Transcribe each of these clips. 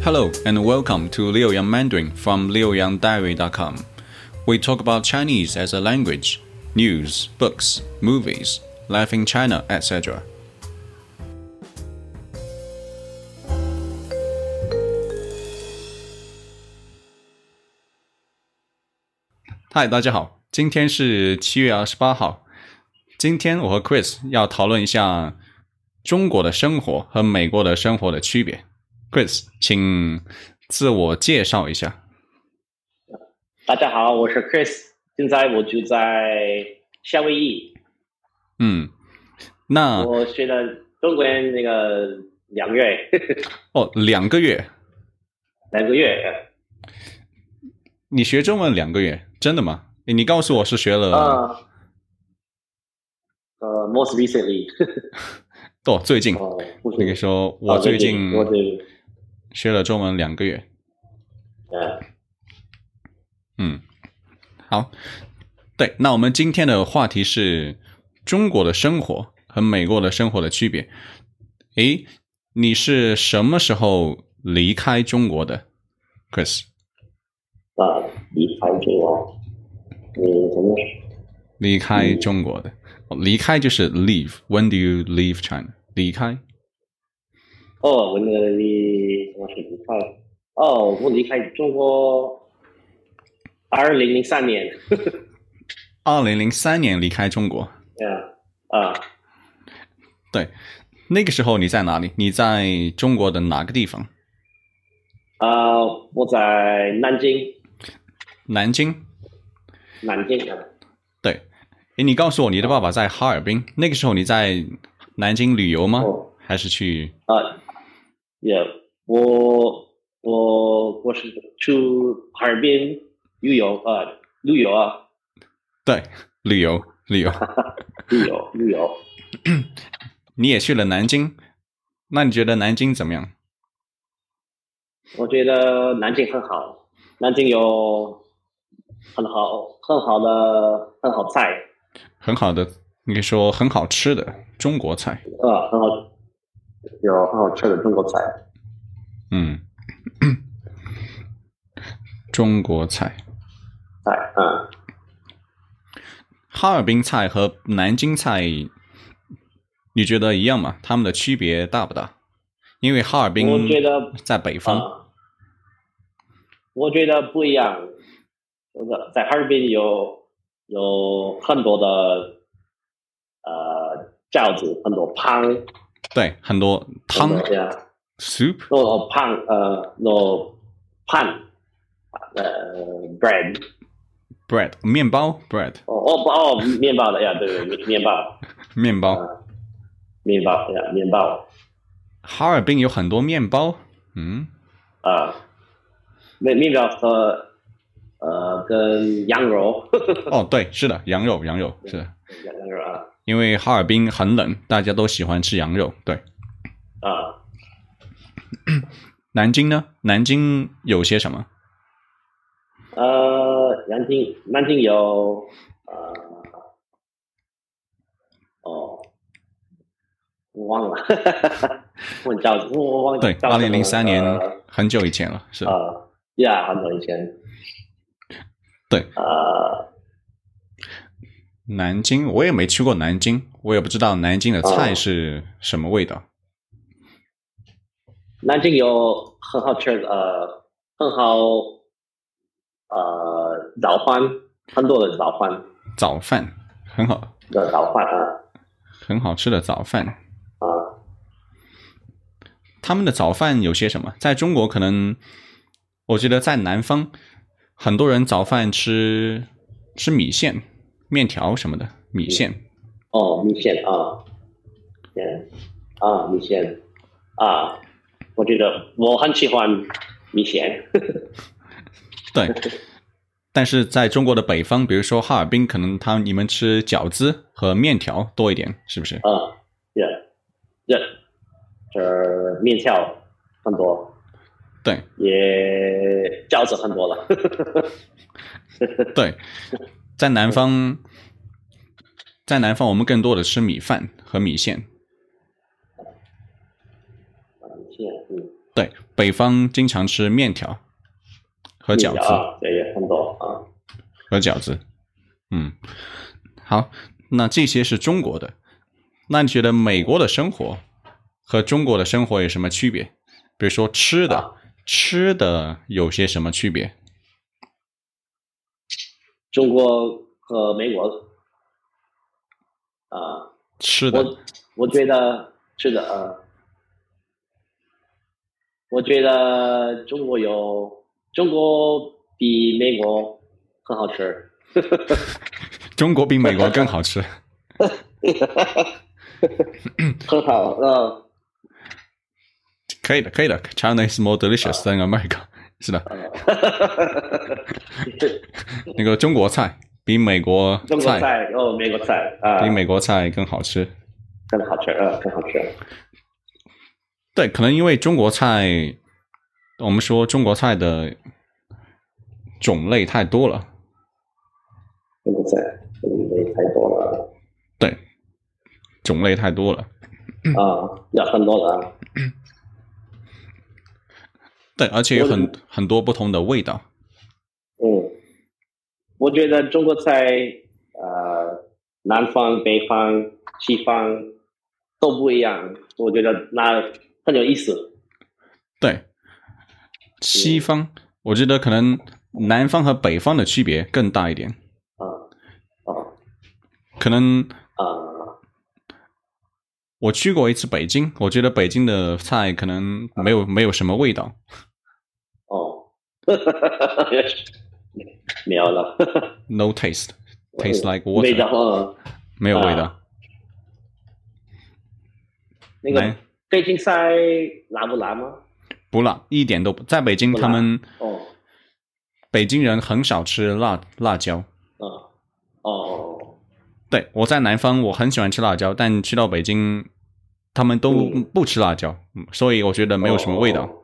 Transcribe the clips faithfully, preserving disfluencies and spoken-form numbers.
Hello and welcome to Liu Yang Mandarin from liu yang diary dot com. We talk about Chinese as a language, news, books, movies, life in China, et cetera. 嗨，大家好，今天是七月二十八号。今天我和 Chris 要讨论一下中国的生活和美国的生活的区别。Chris， 请自我介绍一下。 大家好，我是 Chris， 现在我住在夏威夷。 嗯，那我学了中文那个两个月。 哦，两个月， 两个月。 你学中文两个月，真的吗？你告诉我是学了。 呃，呃 most recently 哦，最近。 哦， 那个说，我最近我最近学了中文两个月。 呃嗯，好，对，那我们今天的话题是中国的生活和美国的生活的区别。诶，你是什么时候离开中国的 ，Chris？ 啊，离开中国，你什么？ 离开中国的，嗯、离开就是 leave。When do you leave China？ 离开。 哦，我那个离什么时候离开？哦，我离开中国，二零零三年。 二零零三年离开中国。 Yeah， 啊， 对，那个时候你在哪里？你在中国的哪个地方？ 啊，我在南京。 南京。 南京啊。 对，诶，你告诉我你的爸爸在哈尔滨，那个时候你在南京旅游吗？ 哦、 还是去？ 啊，也、yeah, 我我我是去哈尔滨旅游啊，旅游啊。 对，旅游旅游旅游旅游。 你也去了南京，那你觉得南京怎么样？ 我觉得南京很好，南京有很好很好的很好菜， 很好的，你可以说很好吃的中国菜。 啊，很好，有很好吃的中国菜。 嗯，中国菜。 菜，嗯。 哈尔滨菜和南京菜，你觉得一样吗？他们的区别大不大？因为哈尔滨我觉得在北方。 呃、我觉得不一样。在哈尔滨有有很多的呃饺子，很多汤。 对，很多汤。 呀 soup。 no 汤呃 no pan 呃 bread bread 面包 bread。 哦哦哦面包的呀，对对面包。 面包。 呃、面包呀面包。 哈尔滨有很多面包。嗯。 啊，面面包和呃跟羊肉。 哦，对，是的，羊肉羊肉是的。 羊肉啊。 因为哈尔滨很冷，大家都喜欢吃羊肉。对。 啊。 南京呢？南京有些什么？ 呃，南京南京有呃哦，我忘了。我叫我忘了。 对，二零零三年、 呃、 很久以前了，是。 呃，呀，很久以前。 对。 呃， 南京我也没去过南京，我也不知道南京的菜是什么味道。 呃、南京有很好吃的呃，很好呃早饭，很多的早饭。 早饭很好的早饭啊， 很好吃的早饭啊。 他们的早饭有些什么？在中国可能，我觉得在南方，很多人早饭吃吃米线、面条什么的。米线。 哦，米线啊，对啊，米线啊，我觉得我很喜欢米线。 对。但是在中国的北方，比如说哈尔滨，可能他你们吃饺子和面条多一点，是不是？ 啊，对，对，这面条很多。 对。 也饺子很多了。 对，在南方，在南方我们更多的吃米饭和米线。 西安，嗯， 对，北方经常吃面条和饺子， 啊，对，也很多啊， 和饺子。嗯，好，那这些是中国的。那你觉得美国的生活和中国的生活有什么区别？比如说吃的， 啊、 吃的有些什么区别？ 中国和美国啊， 吃的， 我我觉得是的，呃，我觉得中国有中国比美国很好吃。 中国比美国更好吃。 很好，嗯， 可以的，可以的。China is more delicious than America。是的，那个中国菜比美国菜， 中国菜哦，美国菜啊， 比美国菜更好吃， 更好吃，呃，更好吃。 对，可能因为中国菜，我们说中国菜的种类太多了。 中国菜种类太多了。 对，种类太多了。 啊，有很多的啊。 对，而且有很很多不同的味道。 嗯，我觉得中国菜，呃，南方、北方、西方都不一样，我觉得那很有意思。 对，西方，我觉得可能南方和北方的区别更大一点。 啊啊， 可能啊， 我去过一次北京，我觉得北京的菜可能没有没有什么味道。 哦，没有了。 No taste, tastes like water。 味道啊， 没有味道。 那个北京菜辣不辣吗？ 不辣，一点都不。在北京，他们哦， 北京人很少吃辣辣椒。 哦哦， 对，我在南方，我很喜欢吃辣椒，但去到北京，他们都不吃辣椒，嗯、所以我觉得没有什么味道。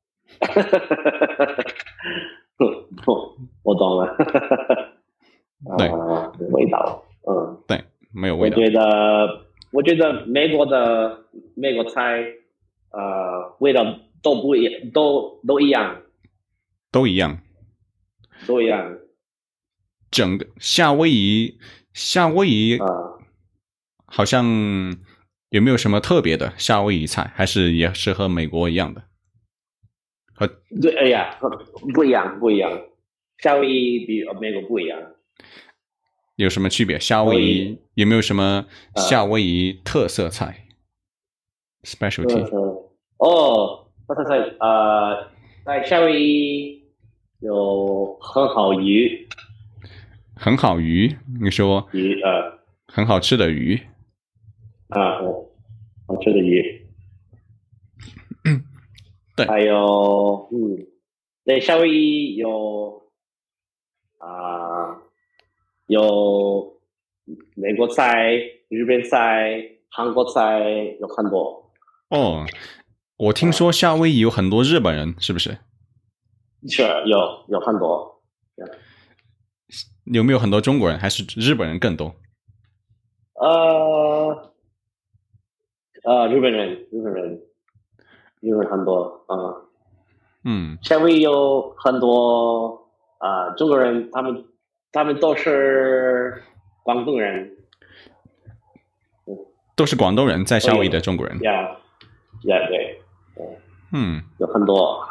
哦、我懂了。 对、 呃，味道，嗯， 对，没有味道。 我觉得，我觉得美国的美国菜，呃，味道都不一样，都都一样， 都一样， 都一样。 整个夏威夷，夏威夷， 呃， 好像有没有什么特别的夏威夷菜？还是也是和美国一样的？和对，哎呀，不一样，不一样。夏威夷比美国不一样。 有什么区别？夏威夷有没有什么夏威夷特色菜、呃、？specialty？ 哦，特色菜，呃，在夏威夷有很好鱼， 很好鱼，你说鱼呃， 很好吃的鱼啊，好吃的鱼， 对， 还有嗯，在夏威夷有啊、呃、有美国菜、日本菜、韩国菜有很多。 哦，我听说夏威夷有很多日本人，是不是？ 是有有很多。 有没有很多中国人？还是日本人更多？ 呃呃，日本人，日本人，日本很多啊。呃、 嗯， 夏威夷有很多啊、呃、中国人，他们他们都是广东人， 都是广东人在夏威夷的中国人。 呀呀，对， 嗯， 有很多。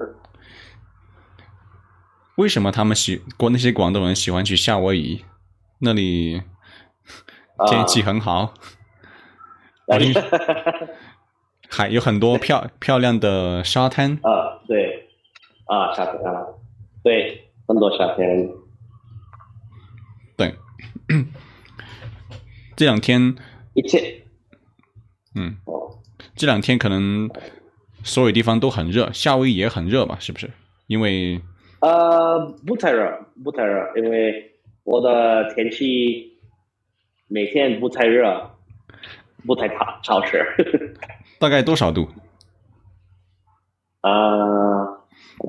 为什么他们喜那些广东人喜欢去夏威夷？那里天气很好， 呃、 还有很多漂漂亮的沙滩。 啊，对，啊，沙滩啊，对，很多沙滩。 对，这两天一切， 嗯，这两天可能所有地方都很热，夏威夷也很热吧？是不是？因为呃，不太热，不太热，因为我的天气每天不太热，不太潮潮湿。 大概多少度？ 啊、呃，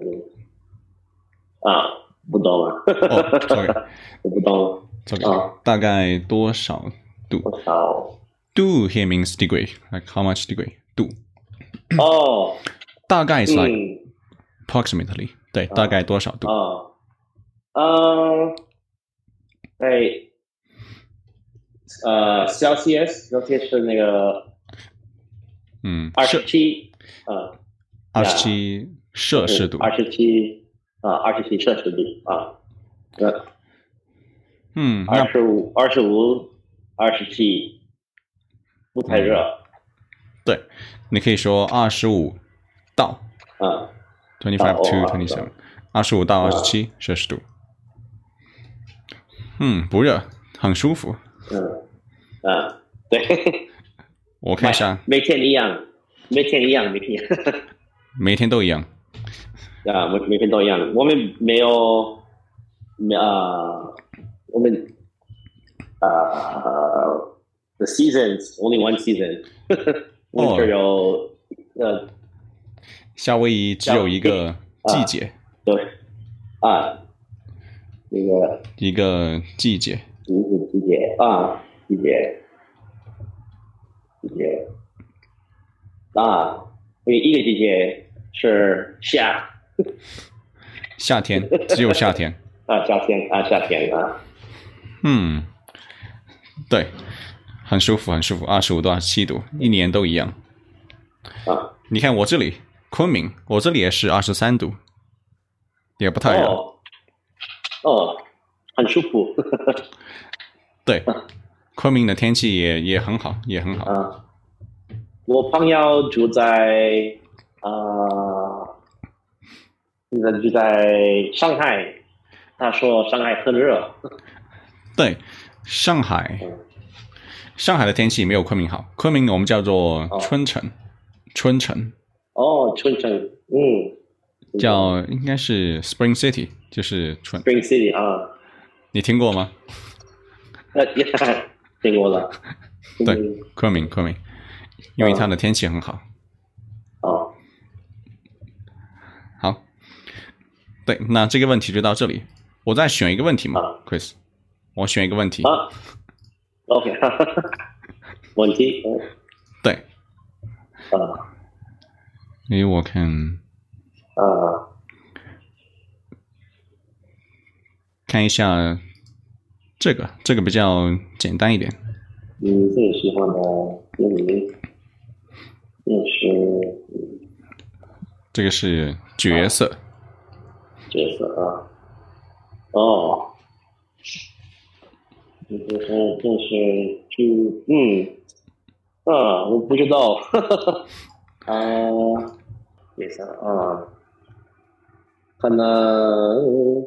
啊，不懂了。 哦 ，sorry， 我不懂了。 sorry，、 啊、 大概多少度？ 多少？ 度 here means degree, like how much degree? 度。 哦， 大概是 like 嗯 approximately， 对，大概多少度？ 啊，呃，在呃 Celsius Celsius 是那个嗯， 二十摄七，呃， 二十七摄氏度。 二十七啊，二十七摄氏度啊，呃， 嗯，那二十五、二十五、二十七，不太热， 对，你可以说二十五到啊， twenty 到 five to 哦 twenty 啊， seven，二十五到二十七摄氏度。嗯，不热，很舒服。 嗯啊，对， 我看一下， 每天一样，每天一样，每天一样。 每天都一样。 啊，每每天都一样。我们没有，没啊，我们啊，the seasons only one season 。winter 有呃， 夏威夷只有一个季节， 对啊，那个一个季节。 季季节啊，季节季节啊，因为一个季节是夏夏天只有夏天。 啊，夏天啊，夏天啊， 嗯，对，很舒服，很舒服，二十五度、二十七度，一年都一样。 啊， 你看我这里昆明，我这里也是二十三度，也不太热。 哦哦，很舒服。 对，昆明的天气也也很好，也很好。 啊，我朋友住在啊，现在住在上海，他说上海很热。 对，上海，上海的天气没有昆明好。昆明我们叫做春城，春城哦，春城，嗯， 叫应该是 Spring City，就是春。 Spring City 啊， 你听过吗？ 呃，听过了。 对， 嗯昆明，昆明，因为它的天气很好。 哦， 好，对，那这个问题就到这里。我再选一个问题嘛啊 ，Chris，我选一个问题。 啊，OK，问题，嗯对， 啊因为我看啊看一下这个，这个比较简单一点。 你最喜欢的电影电视这个是角色， 角色啊？哦，这是这是就嗯啊，我不知道，啊，也是啊，可能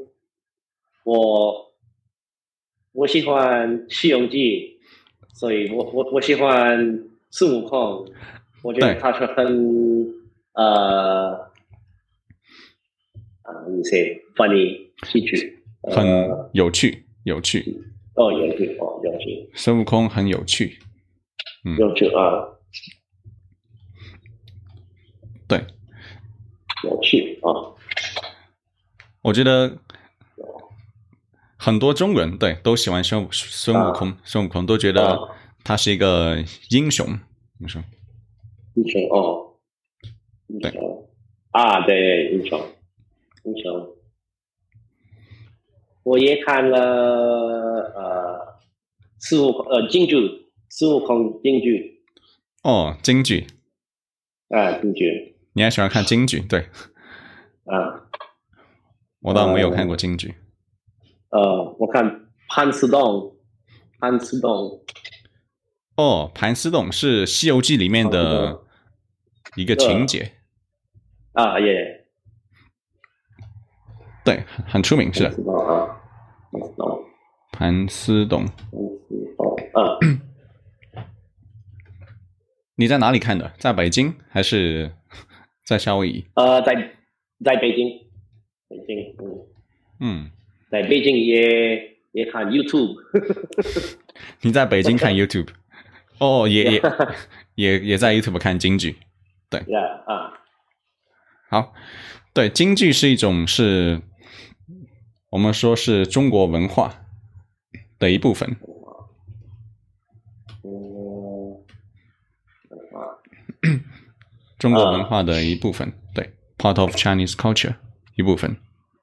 我我喜欢《西游记》，所以我我我喜欢孙悟空，我觉得对他是很呃啊，你 say funny 喜剧， 很呃有趣，有趣。 哦，有趣哦，有趣， 孙悟空很有趣。嗯， 有趣啊， 对， 有趣啊， 我觉得很多中国人对都喜欢孙孙悟空，孙悟空都觉得他是一个英雄。你说？ 英雄哦，英雄啊，对，英雄，英雄。我也看了呃孙悟空呃京剧，孙悟空京剧哦，京剧， 啊，京剧你还喜欢看京剧？对， 啊， 我倒没有看过京剧。 呃，我看潘思栋，潘思栋哦，盘丝洞是《西游记》里面的一个情节， 啊，也对，很很出名，是潘思栋啊，潘思栋， 盘丝洞。 潘思栋啊， 你在哪里看的？在北京还是在夏威夷？ 呃，在在北京，北京，嗯， 嗯， 在北京也也看 YouTube， 你在北京看 YouTube？ 哦，也也也也在 YouTube 看京剧。对， 呀啊， 好，对，京剧是一种是，我们说是中国文化的一部分。 嗯， 中国文化的一部分，对 ，part of Chinese culture 一部分。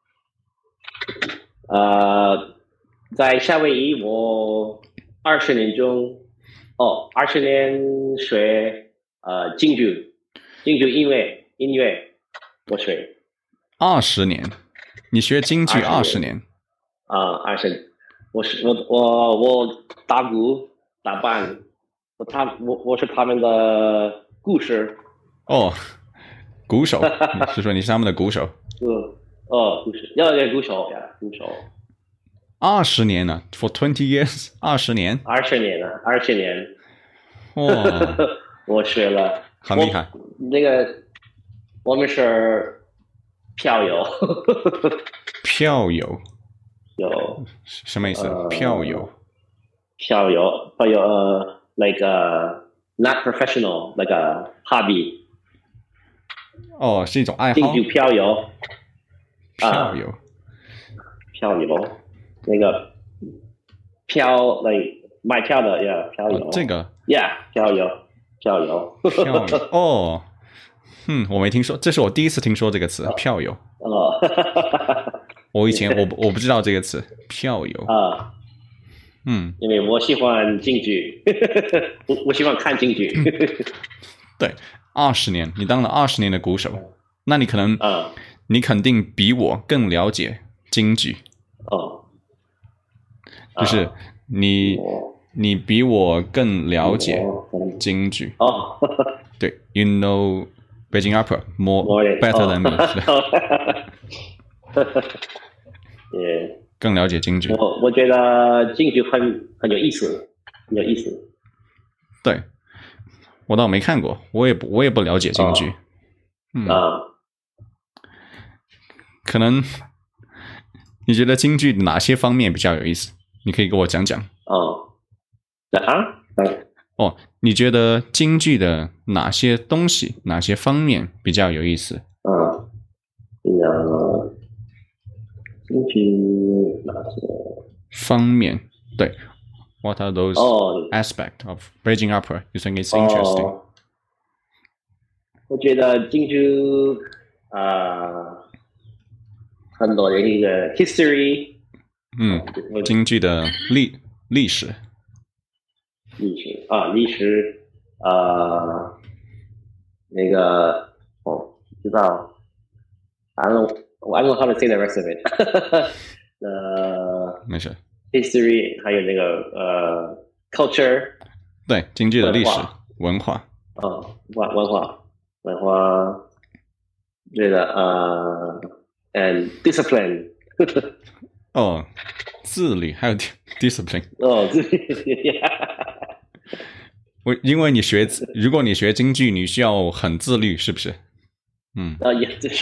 呃，在夏威夷，我二十年中，哦，二十年学呃京剧，京剧音乐音乐，我学二十年，你学京剧二十年啊，二十，我是我我我打鼓打扮，我他我我是他们的故事。 哦，鼓手，你是说你是他们的鼓手？ 嗯，哦，鼓手，要要鼓手呀，鼓手。 二十年了 ，for twenty years， 二十年， 二十年了，二十年。 哇， 我学了， 很厉害。 那个我们是票友， 票友有什么意思？ 呃票友， 票友，票友呃，like a not professional, like a hobby。 哦，是一种爱好。 京剧票友， 票友， 票友，那个票，like 买票的呀，票友。 哦这个 ，yeah，票友，票友。 票友，哦，嗯，我没听说，这是我第一次听说这个词，票友。 哦， 我以前我我不知道这个词，票友。 啊， 嗯， 因为我喜欢京剧，我我喜欢看京剧。 对，二十年，你当了二十年的鼓手，那你可能， 啊， 你肯定比我更了解京剧， 哦， 就是你我你比我更了解我京剧。 哦， 对，you know Beijing opera more More than- better than me， 也更了解京剧。 我我觉得京剧很很有意思，很有意思。 对，我倒没看过，我也不我也不了解京剧。嗯， 啊， 可能你觉得京剧哪些方面比较有意思？你可以给我讲讲。 哦，啊，嗯哦，你觉得京剧的哪些东西、哪些方面比较有意思？ 嗯，呃，京剧哪些？ 方面，对。What are those 哦 aspects of Beijing opera you think it's interesting？、 哦，我觉得京剧啊，很多的一个 history， 嗯， 我京剧的历历史。 历史啊，历史，呃，那个我知道，I don't know, I don't know how to say the rest of it 。呃没事。 ，history 还有那个呃 culture， 对，京剧的历史文化文化。 啊，文文化文化，这个呃，and discipline 哦，自律还有 discipline。 哦，这我因为你学，如果你学京剧，你需要很自律，是不是？嗯， 啊也这是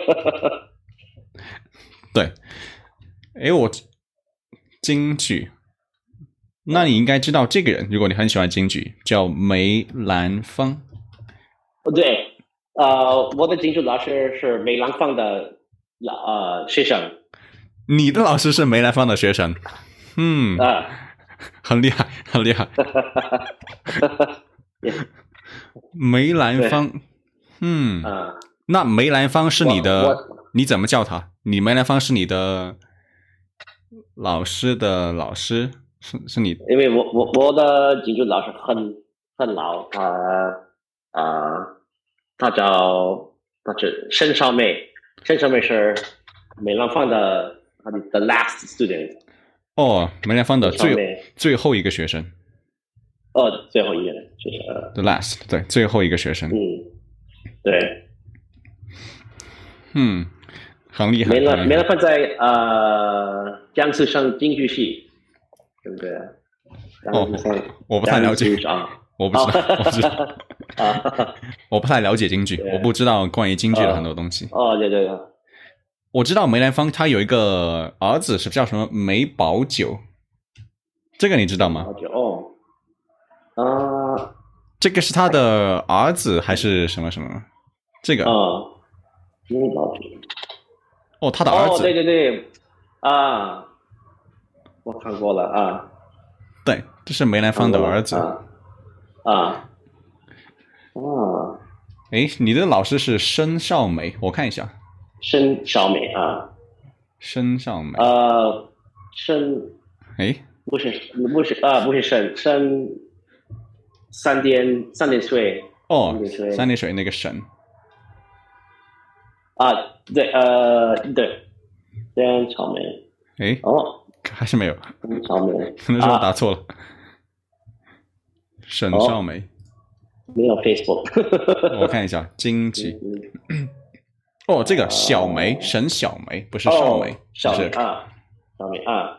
对。诶，我京剧，那你应该知道这个人，如果你很喜欢京剧，叫梅兰芳。 哦对，呃，我的京剧老师是梅兰芳的老呃学生你的老师是梅兰芳的学生，嗯， 啊， 很厉害，很厉害。梅兰芳，嗯， 啊， 那梅兰芳是你我的我， 你怎么叫他？你梅兰芳是你的老师的老师，是是你因为我我我的京剧老师很很老，他啊，他叫他是申少梅，申少梅是梅兰芳的他的 the last student， 哦，梅兰芳的最上面最后一个学生哦，最后一个人就是呃 ，the last，对，最后一个学生， 嗯，对， 嗯，很厉害。 梅兰很厉害梅兰芳在呃江苏省京剧系，对不对？ 哦江苏省我不太了解江苏省我不知道，我不知道， 啊， 我不太了解京剧， 对我不知道关于京剧的很多东西。 哦，对对对， 我知道梅兰芳他有一个儿子是叫什么梅葆玖，这个你知道吗？ 好久哦，啊这个是他的儿子还是什么什么？这个啊，梅葆玖， 哦，他的儿哦， 子， 对对对，啊，我看过了啊， 对，这是梅兰芳的儿子。 啊啊啊， 诶，你的老师是申少梅，我看一下。 申少梅啊。 申少梅。 呃，申。 诶， 不是不是啊、呃，不是申申三点三点水。 哦， 三点水三点水那个神。 啊，对，呃，对，申少梅。 诶， 哦， 还是没有。 申少梅， 可能是我打错了。沈、 啊、 少梅。 没有 Facebook。 我看一下经济。哦，这个小梅，沈小梅，不是少梅， 哦、少梅是啊，少梅啊。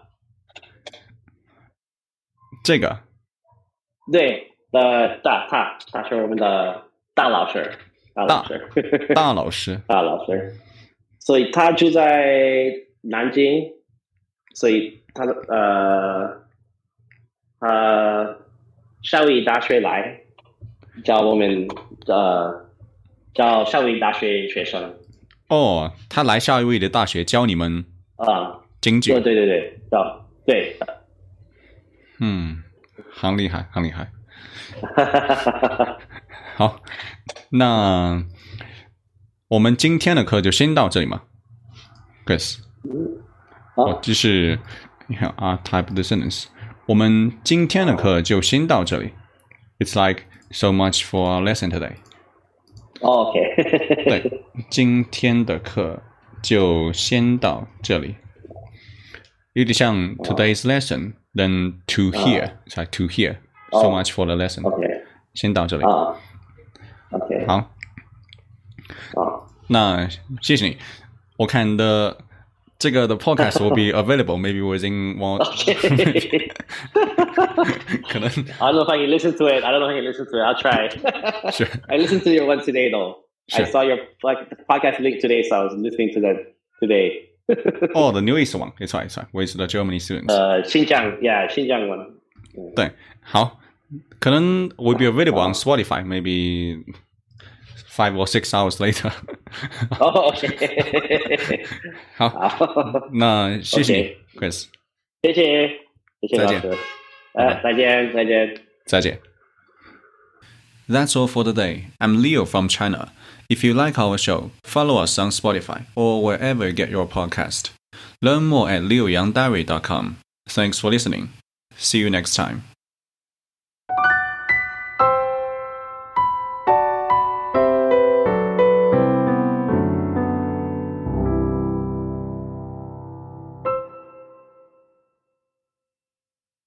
这个。 对，呃，大他他是我们的大老师，大老师， 大老师， 大老师。所以他住在南京，所以他呃呃邵逸大学来教我们呃教邵逸大学学生。 哦，他来夏威夷的大学教你们啊， 京剧。 对对对对，教对。 嗯，很厉害，很厉害。好，那我们今天的课就先到这里嘛 ，Chris。哦，这是你看啊 ，type the sentence。我们今天的课就先到这里。It's like so much for our lesson today. OK 对，今天的课就先到这里。有点像 today's lesson, then to here, it's like to here. So much for the lesson. OK 先到这里。 啊 OK 好， 好， 那谢谢你。我看的这个的 podcast will be available maybe within one. Okay. 可能 I don't know if I can listen to it. I don't know if I can listen to it. I'll try. Sure. I listened to your one today though. Sure. I saw your like podcast link today, so I was listening to that today. Oh, the newest one. It's right, it's right. With the Germany students. 呃，新疆 yeah, 新疆 one. 对，好，可能 will be available on Spotify maybe five or six hours later. Oh, OK. 好， 好， 那谢谢你 OK ，Chris。 谢谢，谢谢再见老师。呃，再见，再见。 再见。That's all for today. I'm Leo from China. If you like our show, follow us on Spotify or wherever you get your podcast. Learn more at leo yang diary dot com. Thanks for listening. See you next time.